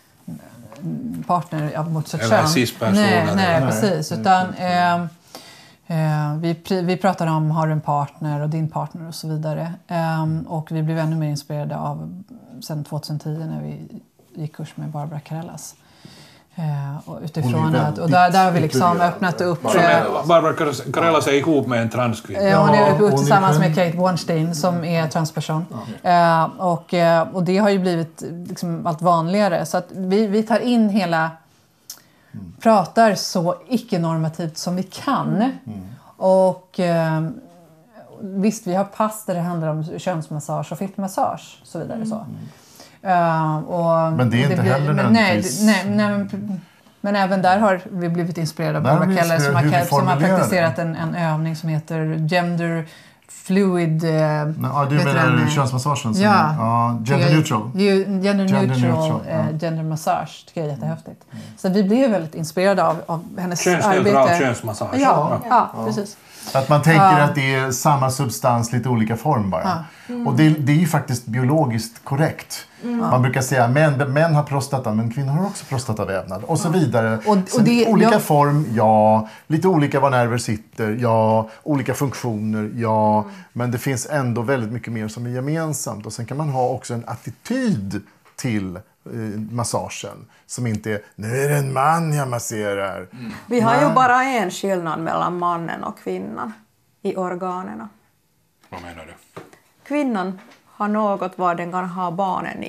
partner ja, mot sitt kön. Nej, nej, nej, precis. Utan, eh, eh, vi, vi pratar om har du en partner och din partner och så vidare. Eh, och vi blev ännu mer inspirerade av sen tjugohundratio när vi gick kurs med Barbara Carellas. Eh, och utifrån att, och där, där har vi liksom öppnat upp... Eh, Barbara Carellas är ihop med en transkvinna. Eh, hon är uppe tillsammans med Kate Bornstein som är transperson. Eh, och, och det har ju blivit liksom allt vanligare. Så att vi, vi tar in hela... Mm. Pratar så icke-normativt som vi kan. Mm. Och eh, visst, vi har pass där det handlar om könsmassage och fittmassage och så vidare. Mm. Så. Uh, och, men det är och det inte blir, heller men, nej, nej, nej, men, men även där har vi blivit inspirerade av Barbara Keller som har, som har praktiserat en, en övning som heter gender fluid... Uh, ja, du menar könsmassagen? Som, ja, ja, gender neutral. Gender, gender neutral, neutral ja. uh, gender massage tycker jag är jättehäftigt. Mm. Så vi blev väldigt inspirerade av, av hennes könsneutral arbete. Könsmassage. Ja, ja, ja, ja, precis. Att man tänker uh, att det är samma substans, lite olika form bara. Uh, mm. Och det, det är ju faktiskt biologiskt korrekt. Mm. Man brukar säga att män, män har prostata, men kvinnor har också prostatavävnad. Och så vidare. Och, och det, olika jag... form, ja. Lite olika var nerver sitter, ja. Olika funktioner, ja. Mm. Men det finns ändå väldigt mycket mer som är gemensamt. Och sen kan man ha också en attityd till eh, massagen. Som inte är, nu är det en man jag masserar. Mm. Vi har ju bara en skillnad mellan mannen och kvinnan i organerna. Vad menar du? Kvinnan har något vad den kan ha barnen i.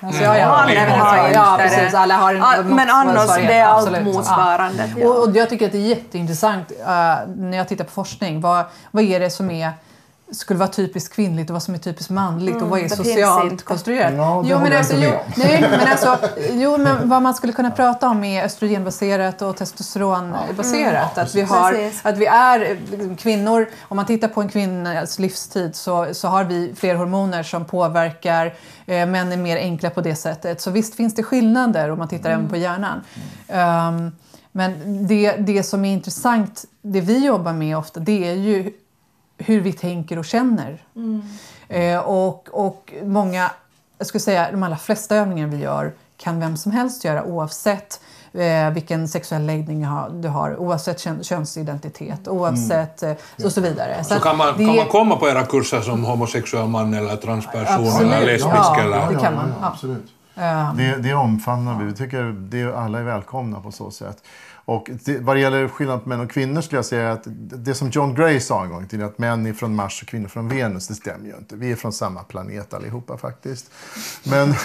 Alltså, ja, ja, Mannen ja, har ja, inte ja, det. precis. Alla har en Ah, men annars motsvarighet. det är allt Absolut. motsvarande. Ja. Och, och jag tycker att det är jätteintressant uh, när jag tittar på forskning. Vad, vad är det som är skulle vara typiskt kvinnligt och vad som är typiskt manligt mm, och vad är socialt konstruerat. Ja, jo, men alltså, jo, nej, men alltså, jo, men vad man skulle kunna prata om är östrogenbaserat och testosteronbaserat. Mm. Att, vi har, att vi är kvinnor, om man tittar på en kvinnas livstid så, så har vi fler hormoner som påverkar, eh, män är mer enkla på det sättet. Så visst finns det skillnader om man tittar mm. även på hjärnan. Um, men det, det som är intressant, det vi jobbar med ofta, det är ju hur vi tänker och känner. Mm. Eh, och, och många, jag skulle säga de allra flesta övningar vi gör kan vem som helst göra oavsett eh, vilken sexuell läggning du har, oavsett kön, könsidentitet, oavsett mm. eh, och så vidare. Så, så kan, man, det, kan man komma på era kurser som homosexuell man eller transperson absolut. eller lesbisk? Ja, eller? det kan man. Ja, ja. absolut. Um. Det, det omfamnar vi. Vi tycker det, alla är välkomna på så sätt. Och det, vad det gäller skillnad på män och kvinnor skulle jag säga att det som John Gray sa en gång till att män är från Mars och kvinnor från Venus, det stämmer ju inte. Vi är från samma planet allihopa faktiskt. Men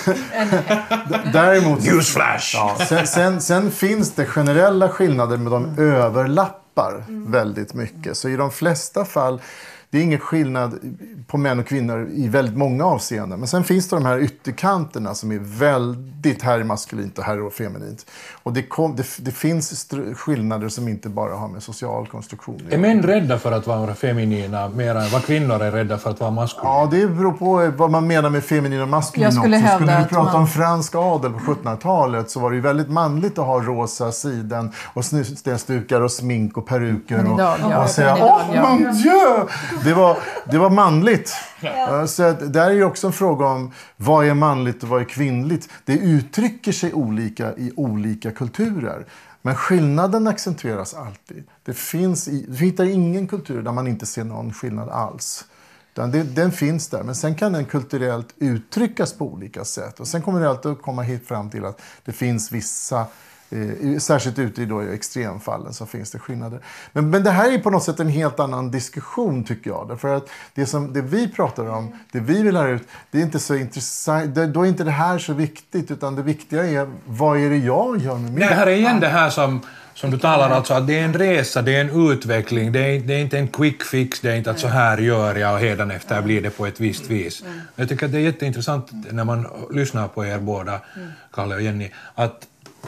däremot... Newsflash! Ja, sen, sen, sen finns det generella skillnader med de mm. överlappar mm. väldigt mycket. Så i de flesta fall, det är ingen skillnad på män och kvinnor i väldigt många avseenden. Men sen finns det de här ytterkanterna som är väldigt herrmaskulint och herrofeminint. Och det, kom, det, det finns skillnader som inte bara har med social konstruktion. Är män rädda för att vara feminina mer än vad kvinnor är rädda för att vara maskulina? Ja, det beror på vad man menar med feminin och maskulin. Jag skulle också. Skulle vi prata man... om fransk adel på sjuttonhundratalet så var det ju väldigt manligt att ha rosa siden och snusdukar och smink och peruker. Och, idag, ja. och säga, åh oh, mon dieu! Det var, det var manligt. Ja. Så att, där är ju också en fråga om vad är manligt och vad är kvinnligt. Det uttrycker sig olika i olika kulturer. Men skillnaden accentueras alltid. Det finns i, du hittar ingen kultur där man inte ser någon skillnad alls. Den, det, den finns där, men sen kan den kulturellt uttryckas på olika sätt. Och sen kommer det alltid att komma hit fram till att det finns vissa, eh, särskilt ute i då extremfallen så finns det skillnader. Men, men det här är på något sätt en helt annan diskussion tycker jag. Därför att det, som, det vi pratar om, det vi vill lära ut, det är inte så intressant. Det, då är inte det här så viktigt, utan det viktiga är vad är det jag gör med mig? Det här är igen det här som... Som du talar alltså att det är en resa, det är en utveckling, det är, det är inte en quick fix, det är inte att så här gör jag och hedan efter blir det på ett visst vis. Jag tycker att det är jätteintressant när man lyssnar på er båda, Kalle och Jenny, att,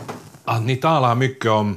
att ni talar mycket om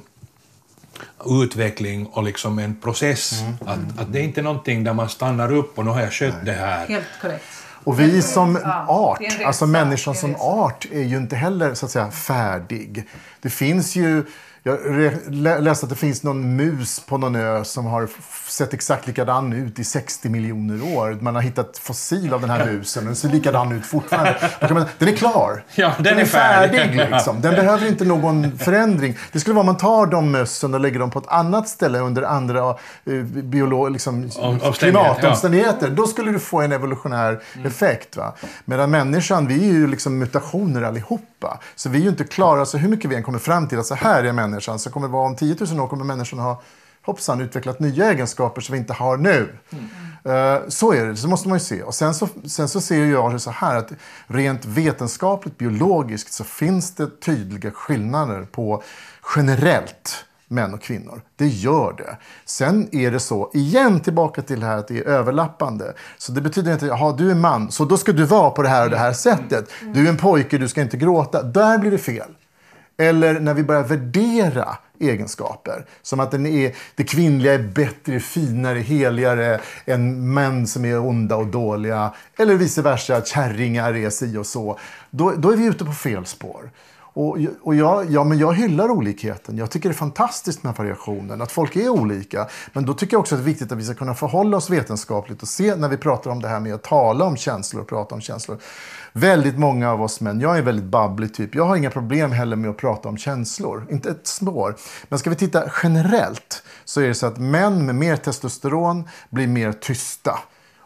utveckling och liksom en process. Mm. Att, att det är inte någonting där man stannar upp och nu har jag skött det här. Helt korrekt. Och vi som art, alltså människan som art är ju inte heller så att säga färdig. Det finns ju... Jag läste att det finns någon mus på någon ö som har sett exakt likadan ut i sextio miljoner år. Man har hittat fossil av den här musen. Den ser likadan ut fortfarande. Den är klar. Ja, den, den är, är färdig. färdig liksom. Den behöver inte någon förändring. Det skulle vara om man tar de mössen och lägger dem på ett annat ställe under andra uh, biolog, liksom, klimatomständigheter. Ja. Då skulle du få en evolutionär mm. effekt. Va? Medan människan, vi är ju liksom mutationer allihopa. Så vi är ju inte klara. Så hur mycket vi än kommer fram till att så här är människan, så kommer det vara om tio tusen år kommer människan ha hoppsan utvecklat nya egenskaper som vi inte har nu. Mm. Uh, så är det, så måste man ju se. Och sen så, sen så ser jag det så här att rent vetenskapligt, biologiskt så finns det tydliga skillnader på generellt män och kvinnor. Det gör det. Sen är det så, igen tillbaka till det här att det är överlappande. Så det betyder inte att ja, du är man, så då ska du vara på det här och det här sättet. Du är en pojke, du ska inte gråta. Där blir det fel. Eller när vi börjar värdera egenskaper. Som att den är, det kvinnliga är bättre, finare, heligare än män som är onda och dåliga. Eller vice versa, att kärringar är si och så. Då, då är vi ute på fel spår. Och, och jag, ja, men jag hyllar olikheten. Jag tycker det är fantastiskt med variationen. Att folk är olika. Men då tycker jag också att det är viktigt att vi ska kunna förhålla oss vetenskapligt. Och se när vi pratar om det här med att tala om känslor och prata om känslor. Väldigt många av oss män, jag är väldigt babblig typ. Jag har inga problem heller med att prata om känslor. Inte ett spår. Men ska vi titta generellt så är det så att män med mer testosteron blir mer tysta.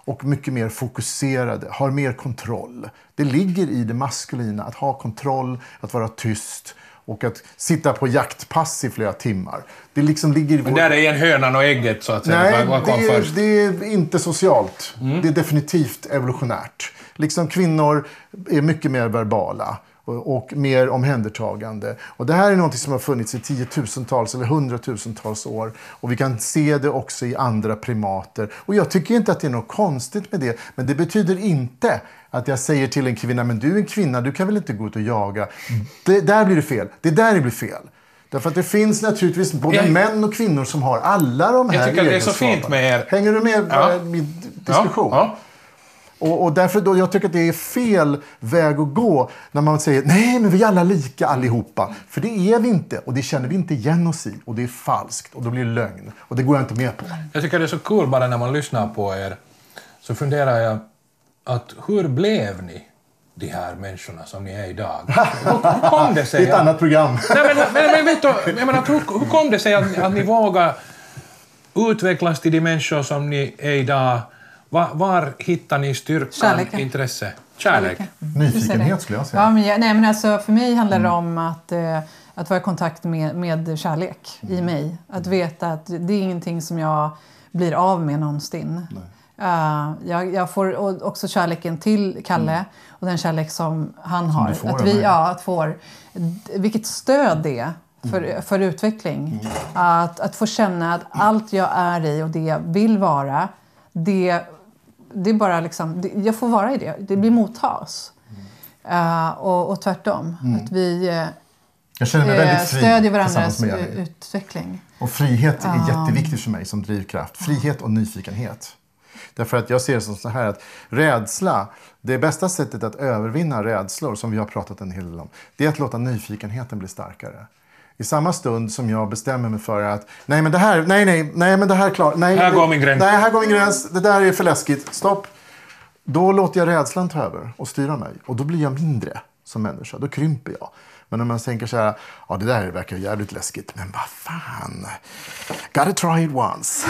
och mycket mer fokuserade, har mer kontroll. Det ligger i det maskulina att ha kontroll, att vara tyst och att sitta på jaktpass i flera timmar. Det liksom ligger i Men vår... där är en hönan och ägget så att säga. Nej, Vad kom det, är, först? det är inte socialt. Mm. Det är definitivt evolutionärt. Liksom kvinnor är mycket mer verbala och, och mer omhändertagande. Och det här är något som har funnits i tiotusentals eller hundratusentals år. Och vi kan se det också i andra primater. Och jag tycker inte att det är något konstigt med det. Men det betyder inte att jag säger till en kvinna, men du är en kvinna, du kan väl inte gå ut och jaga. Det, där blir det fel. Det där det blir fel. Därför att det finns naturligtvis både jag, män och kvinnor som har alla de här jag tycker det är så fint med er. Hänger du med ja. i min diskussion? Ja. Ja. Och, och därför då, jag tycker att det är fel väg att gå när man säger nej men vi är alla lika allihopa. För det är vi inte och det känner vi inte igen oss i. Och det är falskt och då blir det lögn. Och det går jag inte med på. Jag tycker det är så kul bara när man lyssnar på er. Så funderar jag att hur blev ni de här människorna som ni är idag? Hur, hur kom det sig? Det är ett annat program. Nej, men, men, men vet du, jag menar, hur, hur kom det sig att, att ni vågar utvecklas till de människor som ni är idag? Var, var hittar ni styrkan, Kärleken. intresse? Kärlek. Nyfikenhet skulle jag säga. Ja, men jag, nej, men alltså, för mig handlar det om att, eh, att vara i kontakt med, med kärlek i mig. Att veta att det är ingenting som jag blir av med någonsin. Uh, jag, jag får också kärleken till Kalle mm. och den kärlek som han som har. Får, att vi, ja, att får, vilket stöd det är för, mm. för utveckling. Mm. Att, att få känna att allt jag är i och det jag vill vara, det, det är bara liksom, det, jag får vara i det. Det blir mottas. Mm. Uh, och, och tvärtom. Mm. Att vi uh, jag känner mig väldigt fri stödjer varandras utveckling. Och frihet är um. jätteviktigt för mig som drivkraft. Frihet och nyfikenhet. Därför att jag ser det som så här att rädsla, det bästa sättet att övervinna rädslor som vi har pratat en hel del om, det är att låta nyfikenheten bli starkare. I samma stund som jag bestämmer mig för att nej men det här, nej nej, nej men det här är klart, nej, här går min gräns. Nej, här går min gräns, det där är för läskigt, stopp. Då låter jag rädslan ta över och styra mig och då blir jag mindre som människa, då krymper jag. Men om man tänker så här, ja det där verkar jävligt läskigt, men vad fan, gotta try it once.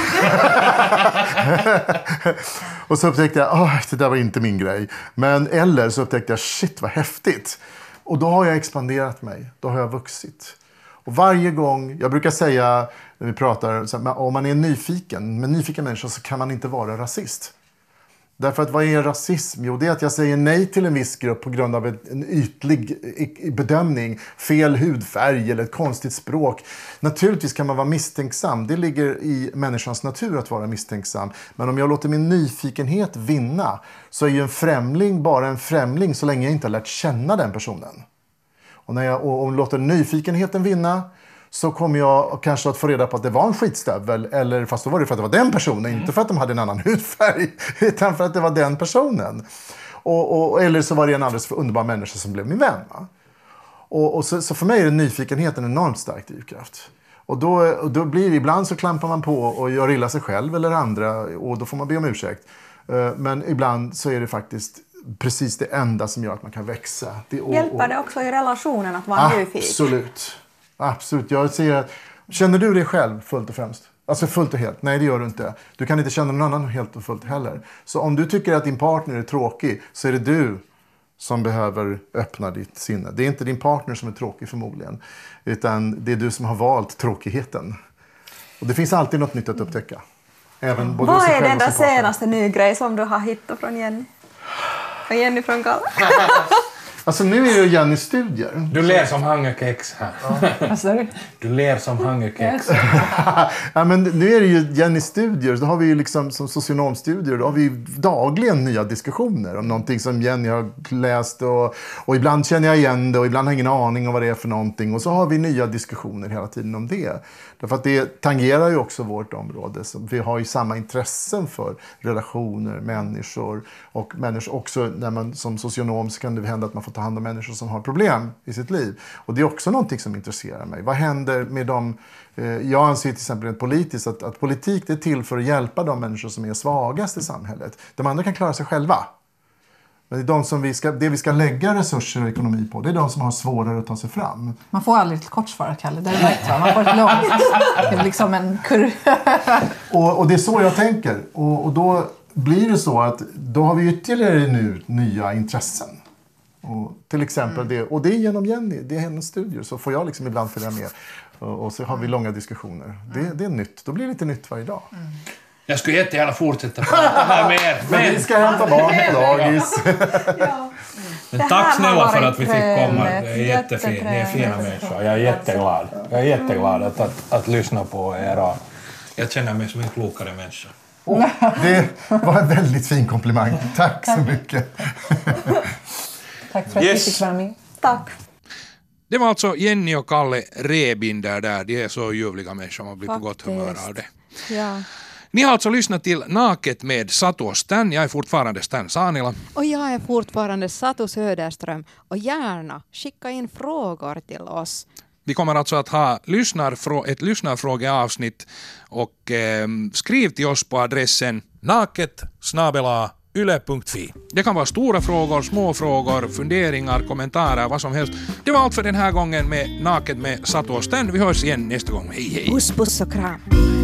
Och så upptäckte jag, oh, det där var inte min grej. Men eller så upptäckte jag, shit vad häftigt. Och då har jag expanderat mig, då har jag vuxit. Och varje gång, jag brukar säga när vi pratar, så här, om man är nyfiken, med nyfiken människa så kan man inte vara rasist. Därför att vad är rasism? Jo, det är att jag säger nej till en viss grupp på grund av en ytlig bedömning, fel hudfärg eller ett konstigt språk. Naturligtvis kan man vara misstänksam. Det ligger i människans natur att vara misstänksam. Men om jag låter min nyfikenhet vinna så är ju en främling bara en främling så länge jag inte har lärt känna den personen. Och när jag och, och låter nyfikenheten vinna så kommer jag kanske att få reda på att det var en skitstövel. Eller fast då var det för att det var den personen. Mm. Inte för att de hade en annan hudfärg. Utan för att det var den personen. Och, och, eller så var det en alldeles för underbar människa som blev min vän. Va? Och, och så, så för mig är nyfikenheten en enormt stark drivkraft. Och då, och då blir det, ibland så klampar man på och gör illa sig själv eller andra. Och då får man be om ursäkt. Men ibland så är det faktiskt precis det enda som gör att man kan växa. Det, och, Hjälper det också i relationen att vara nyfiken? Absolut. Absolut. Jag säger att, känner du dig själv fullt och främst? Alltså fullt och helt? Nej, det gör du inte. Du kan inte känna någon annan helt och fullt heller. Så om du tycker att din partner är tråkig så är det du som behöver öppna ditt sinne. Det är inte din partner som är tråkig förmodligen. Utan det är du som har valt tråkigheten. Och det finns alltid något nytt att upptäcka. Även både Vad är den där senaste ny grej som du har hittat från Jenny? Från Jenny från Kalle? Alltså nu är det Jennys studier. Du ler som hungerkex här. Vad sa du? Du ler som hungerkex. Ja, men nu är det ju Jennys studier. Då har vi ju liksom som socionomstudier. Då har vi dagligen nya diskussioner om någonting som Jenny har läst. Och, och ibland känner jag igen det och ibland har jag ingen aning om vad det är för någonting. Och så har vi nya diskussioner hela tiden om det. Därför att det tangerar ju också vårt område. Så vi har ju samma intressen för relationer, människor. Och människor också när man som socionom så kan det hända att man får ta hand om människor som har problem i sitt liv. Och det är också någonting som intresserar mig. Vad händer med dem? Eh, jag anser till exempel rent politiskt att, att politik det är till för att hjälpa de människor som är svagast i samhället. De andra kan klara sig själva. Men det är de som vi ska, det vi ska lägga resurser och ekonomi på, det är de som har svårare att ta sig fram. Man får aldrig ett kort svar, Kalle. Det är rätt, va? Man får ett långt. Det är liksom en kurv. och, och det är så jag tänker. Och, och då blir det så att då har vi ytterligare nu nya intressen. Och till exempel mm. det, och det är genom Jenny, det är hennes studier, så får jag liksom ibland följa med. Och, och så har vi långa diskussioner. Mm. Det, det är nytt, då blir det lite nytt varje dag. Mm. Jag skulle jättegärna fortsätta prata här med er. Men vi ska hämta barn på dagis. Ja. Men tack snälla för att vi fick komma. Det är jättefint. Ni är fina människor. Jag är jätteglad. Jag är jätteglad att, att, att lyssna på er. Jag känner mig som en klokare människa. Oh, det var en väldigt fin komplimang. Tack så mycket. Tack för att yes. vi fick vara med. Tack. Det var alltså Jenny och Kalle Rebinder där. De är så ljuvliga människor, man blir på gott humör av det. Ja. Ni har alltså lyssnat till Naket med Satu och Stan. Jag är fortfarande Stan Sanila. Och jag är fortfarande Satu Söderström. Och gärna skicka in frågor till oss. Vi kommer alltså att ha lyssnarfrå- ett lyssnarfrågeavsnitt och eh, skriv till oss på adressen naket snabel-a yle punkt fi. Det kan vara stora frågor, små frågor, funderingar, kommentarer, vad som helst. Det var allt för den här gången med Naket med Satu och Stan. Vi hörs igen nästa gång. Hej hej! Puss, puss och kram!